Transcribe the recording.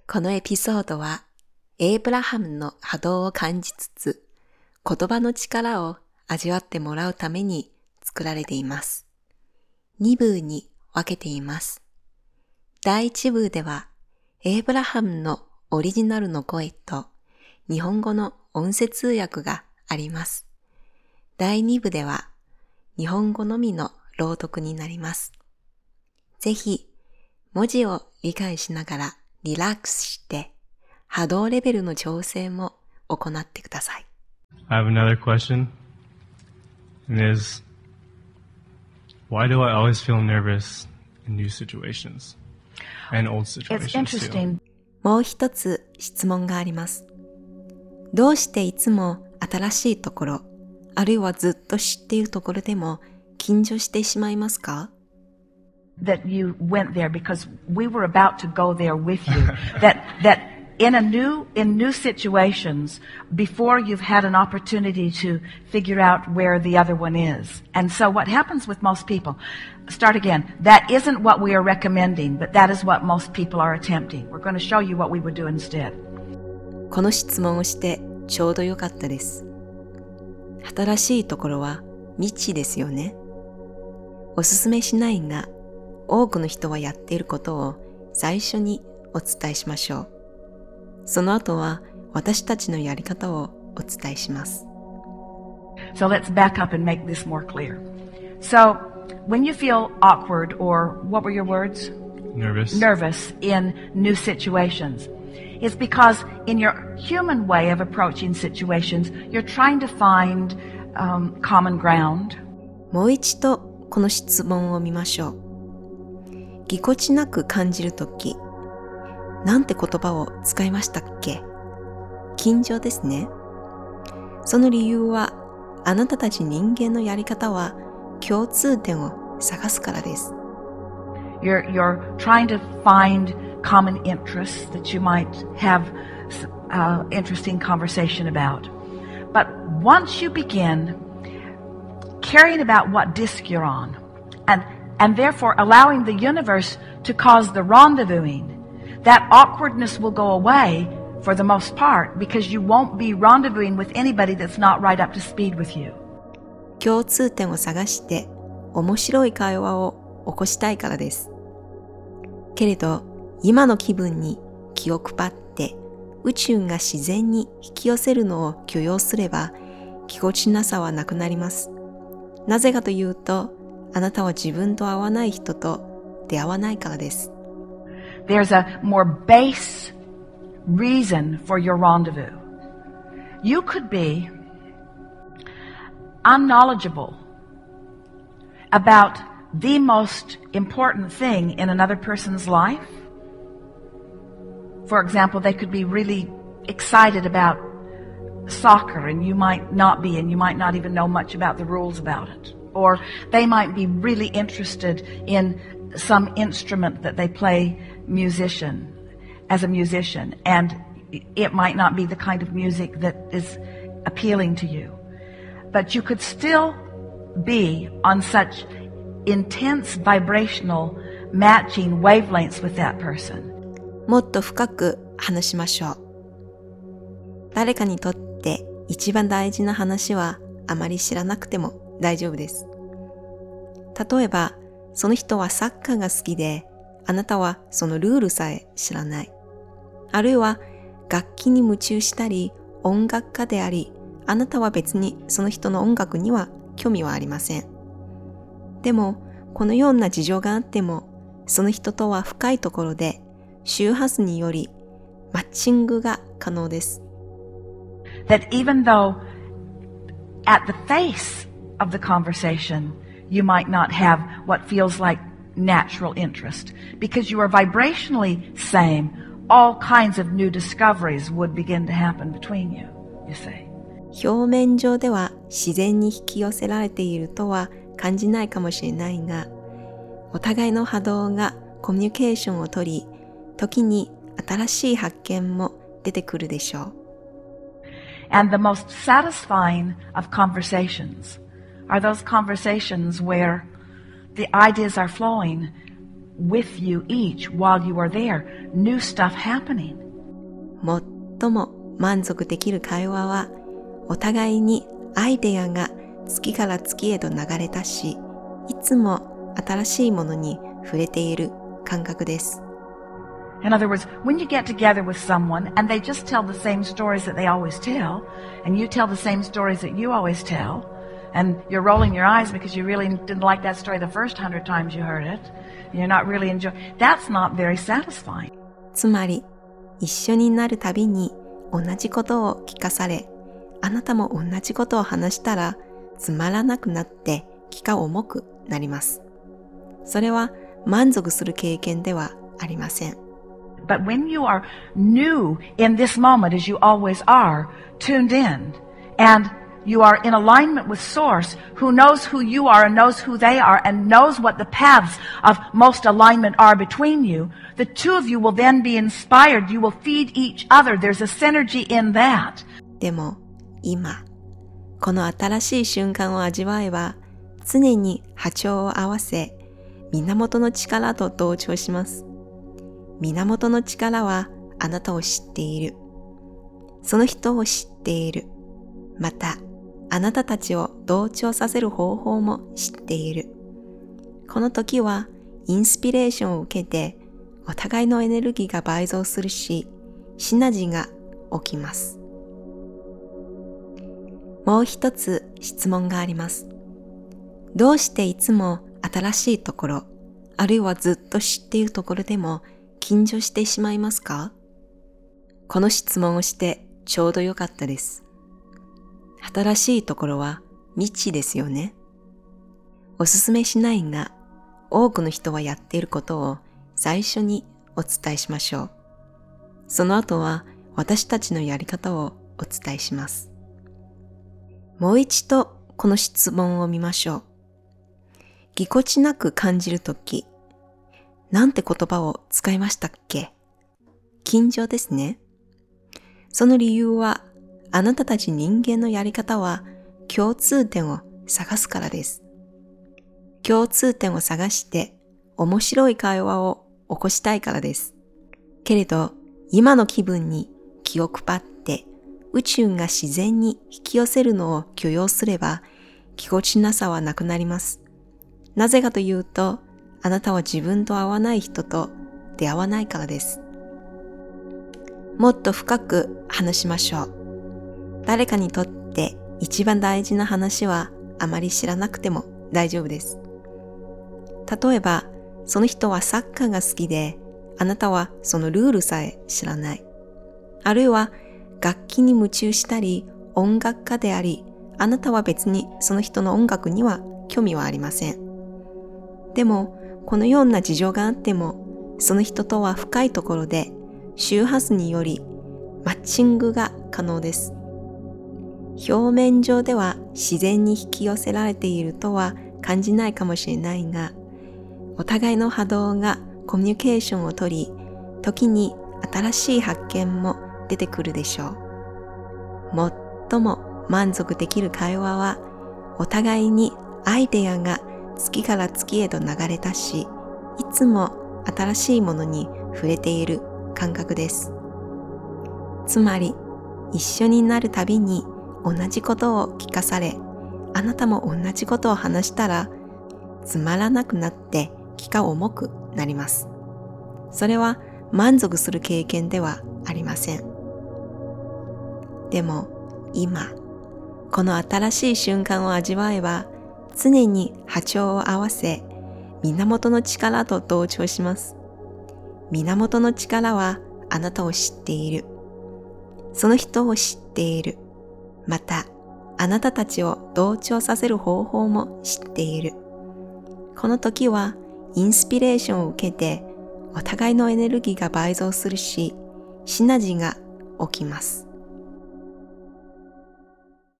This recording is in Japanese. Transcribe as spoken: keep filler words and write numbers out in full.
このエピソードは、エイブラハムの波動を感じつつ、言葉の力を味わってもらうために作られています。に部に分けています。だいいち部では、エイブラハムのオリジナルの声と日本語の音声通訳があります。だいに部では、日本語のみの朗読になります。ぜひ、文字を理解しながらリラックスして、波動レベルの調整も行ってください。 I have another question. And it is, why do I always feel nervous in new situations and old situations It's interesting. too? もう一つ質問があります。どうしていつも新しいところ、あるいはずっと知っているところでも緊張してしまいますか？ That you went there because we were about to go there with you. that that in a new in new situations, before you've had an opportunity to figure out where the other one is. And so what happens with most people, start again, that isn't what we are recommending, but that is what most people are attempting. We're going to show you what we would do instead. この質問をしてちょうどよかったです。新しいところは未知ですよね。おすすめしないが、多くの人はやっていることを最初にお伝えしましょう。その後は私たちのやり方をお伝えします。 So let's back up and make this more clear. So when you feel awkward or what were your words? Nervous. Nervous in new situations. It's because in your human way of approaching situations, you're trying to find um, common ground. もう一度この質問を見ましょう。ぎこちなく感じるとき、なんて言葉を使いましたっけ？緊張ですね。その理由は、あなたたち人間のやり方は共通点を探すからです。 You're, you're trying to find common interests that you might have uh, interesting conversation about. But once you begin caring about what disc you're on, and, and therefore allowing the universe to cause the rendezvousing, that awkwardness will go away for the most part because you won't be rendezvousing with anybody that's not right up to speed with you. 共通点を探して面白い会話を起こしたいからです。けれど、今の気分に気を配って宇宙が自然に引き寄せるのを許容すれば、ぎこちなさはなくなります。なぜかというと、あなたは自分と合わない人と出会わないからです。 There's a more base reason for your rendezvous. You could be unknowledgeable about the most important thing in another person's life. For example, they could be really excited about soccer and you might not be, and you might not even know much about the rules about it. Or they might be really interested in some instrument that they play musician, as a musician, and it might not be the kind of music that is appealing to you. But you could still be on such intense vibrational matching wavelengths with that person. もっと深く話しましょう。誰かにとって一番大事な話はあまり知らなくても大丈夫です。例えば、その人はサッカーが好きで、あなたはそのルールさえ知らない。あるいは楽器に夢中したり、音楽家であり、あなたは別にその人の音楽には興味はありません。でも、このような事情があっても、その人とは深いところで、周波数によりマッチングが可能です。 That even though at the face of the conversation, you might not have what feels like natural interest, because you are vibrationally same, all kinds of new discoveries would begin to happen between you, you say. 表面上では自然に引き寄せられているとは感じないかもしれないが、お互いの波動がコミュニケーションをとり、時に新しい発見も出てくるでしょう。 And the most satisfying of conversations are those conversations where the ideas are flowing with you each while you are there. New stuff happening. 最も満足できる会話は、お互いにアイデアが月から月へと流れ出し、いつも新しいものに触れている感覚です。 In other words, when you get together with someone and they just tell the same stories that they always tell, and you tell the same stories that you always tell, and you're rolling your eyes because you really didn't like that story the first hundred times you heard it, and you're not really enjoying, that's not very satisfying. つまり、一緒になるたびに同じことを聞かされ、あなたも同じことを話したら、つまらなくなって気が重くなります。それは満足する経験ではありません。 But when you are new in this moment, as you always are, tuned in, and you are in alignment with Source, who knows who you are and knows who they are and knows what the paths of most alignment are between you, the two of you will then be inspired. You will feed each other. There's a synergy in that. でも、今、この新しい瞬間を味わえば、常に波長を合わせ、源の力と同調します。源の力はあなたを知っている。その人を知っている。また、あなたたちを同調させる方法も知っている。この時は、インスピレーションを受けて、お互いのエネルギーが倍増するし、シナジーが起きます。もう一つ質問があります。どうしていつも新しいところ、あるいはずっと知っているところでも緊張してしまいますか？この質問をしてちょうどよかったです。新しいところは未知ですよね。おすすめしないが、多くの人はやっていることを最初にお伝えしましょう。その後は私たちのやり方をお伝えします。もう一度この質問を見ましょう。ぎこちなく感じるとき、なんて言葉を使いましたっけ？緊張ですね。その理由は、あなたたち人間のやり方は共通点を探すからです。共通点を探して面白い会話を起こしたいからです。けれど、今の気分に気を配って宇宙が自然に引き寄せるのを許容すれば、ぎこちなさはなくなります。なぜかというと、あなたは自分と合わない人と出会わないからです。もっと深く話しましょう。誰かにとって一番大事な話はあまり知らなくても大丈夫です。例えば、その人はサッカーが好きで、あなたはそのルールさえ知らない。あるいは楽器に夢中したり、音楽家であり、あなたは別にその人の音楽には興味はありません。でも、このような事情があっても、その人とは深いところで、周波数によりマッチングが可能です。表面上では自然に引き寄せられているとは感じないかもしれないが、お互いの波動がコミュニケーションをとり、時に新しい発見も出てくるでしょう。最も満足できる会話は、お互いにアイデアが月から月へと流れ出し、いつも新しいものに触れている感覚です。つまり、一緒になるたびに同じことを聞かされ、あなたも同じことを話したら、つまらなくなって気が重くなります。それは満足する経験ではありません。でも、今、この新しい瞬間を味わえば、常に波長を合わせ、源の力と同調します。源の力はあなたを知っている。その人を知っている。また、あなたたちを同調させる方法も知っている。この時は、インスピレーションを受けて、お互いのエネルギーが倍増するし、シナジーが起きます。